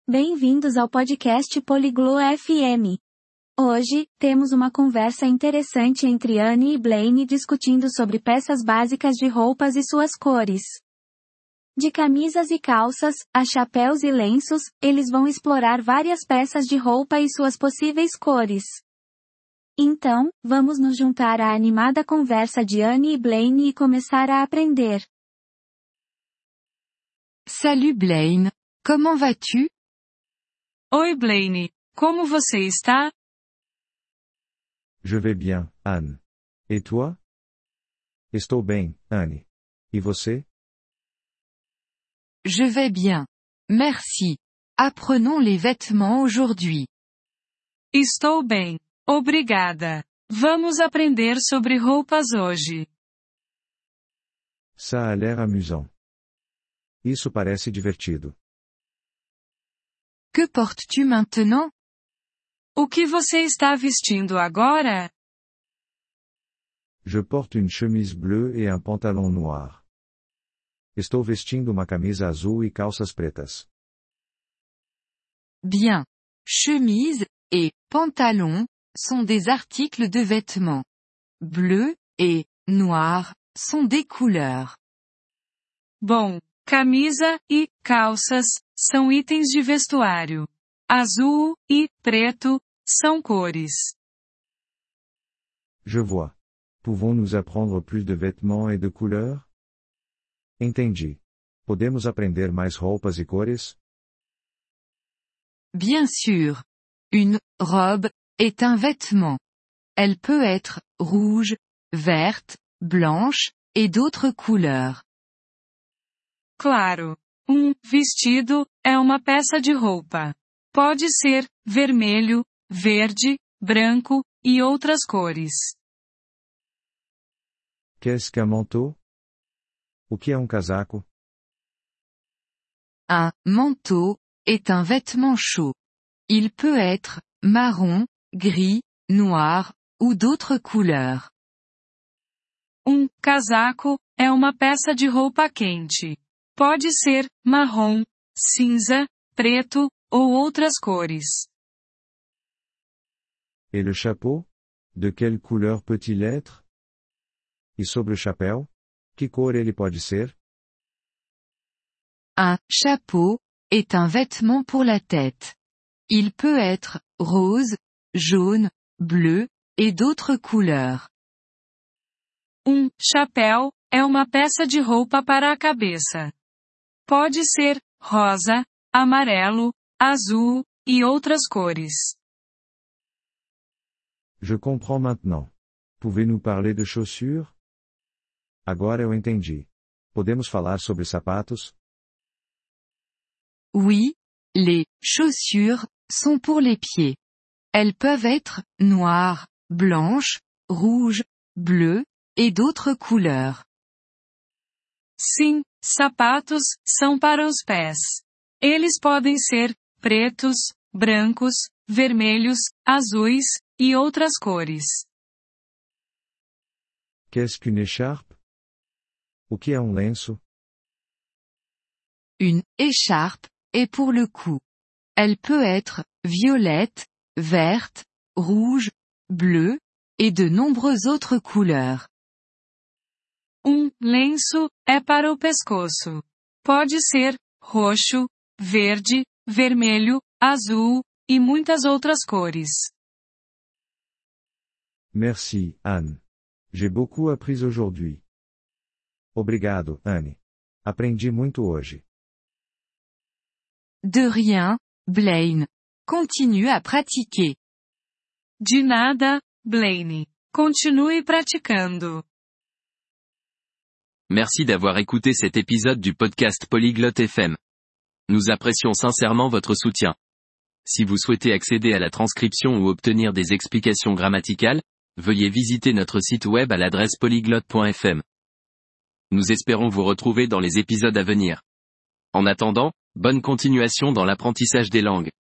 Bem-vindos ao podcast Poliglo FM. Hoje, temos uma conversa interessante entre Anne e Blaine discutindo sobre peças básicas de roupas e suas cores. De camisas e calças, a chapéus e lenços, eles vão explorar várias peças de roupa e suas possíveis cores. Então, vamos nos juntar à animada conversa de Anne e Blaine e começar a aprender. Salut Blaine, comment vas-tu? Oi Blaine, como você está? Je vais bien, Anne. Et toi? Estou bem, Anne. E você? Je vais bien. Merci. Apprenons les vêtements aujourd'hui. Estou bem, obrigada. Vamos aprender sobre roupas hoje. Ça a l'air amusant. Isso parece divertido. Que portes-tu maintenant? O que você está vestindo agora? Je porte une chemise bleue et un pantalon noir. Estou vestindo uma camisa azul e calças pretas. Bien. Chemise et pantalon sont des articles de vêtements. Bleu et noir sont des couleurs. Bom, camisa e calças são itens de vestuário. Azul e preto são cores. Je vois. Pouvons-nous apprendre plus de vêtements et de couleurs? Entendi. Podemos aprender mais roupas e cores? Bien sûr. Une robe est un vêtement. Elle peut être rouge, verte, blanche, et d'autres couleurs. Claro. Vestido é uma peça de roupa. Pode ser vermelho, verde, branco e outras cores. Qu'est-ce qu'un manteau? O que é um casaco? Un manteau est un vêtement chaud. Il peut être marron, gris, noir, ou d'autres couleurs. Casaco é uma peça de roupa quente. Pode ser marrom, cinza, preto ou outras cores. Et le chapeau? De quelle couleur peut-il être? E sobre o chapéu? Que cor ele pode ser? Un chapeau est un vêtement pour la tête. Il peut être rose, jaune, bleu, et d'autres couleurs. Chapéu é uma peça de roupa para a cabeça. Pode ser rosa, amarelo, azul e outras cores. Je comprends maintenant. Pouvez-nous parler de chaussures? Agora eu entendi. Podemos falar sobre sapatos? Oui, les chaussures sont pour les pieds. Elles peuvent être noires, blanches, rouges, bleues, et d'autres couleurs. Sim, sapatos são para os pés. Eles podem ser pretos, brancos, vermelhos, azuis e outras cores. Qu'est-ce qu'une écharpe? O que é um lenço? Une écharpe est pour le cou. Elle peut être violette, verte, rouge, bleue, et de nombreuses autres couleurs. Lenço é para o pescoço. Pode ser roxo, verde, vermelho, azul e muitas outras cores. Merci, Anne. J'ai beaucoup appris aujourd'hui. Obrigado, Anne. Aprendi muito hoje. De rien, Blaine. Continue à pratiquer. De nada, Blaine. Continue praticando. Merci d'avoir écouté cet épisode du podcast Polyglotte FM. Nous apprécions sincèrement votre soutien. Si vous souhaitez accéder à la transcription ou obtenir des explications grammaticales, veuillez visiter notre site web à l'adresse polyglotte.fm. Nous espérons vous retrouver dans les épisodes à venir. En attendant, bonne continuation dans l'apprentissage des langues.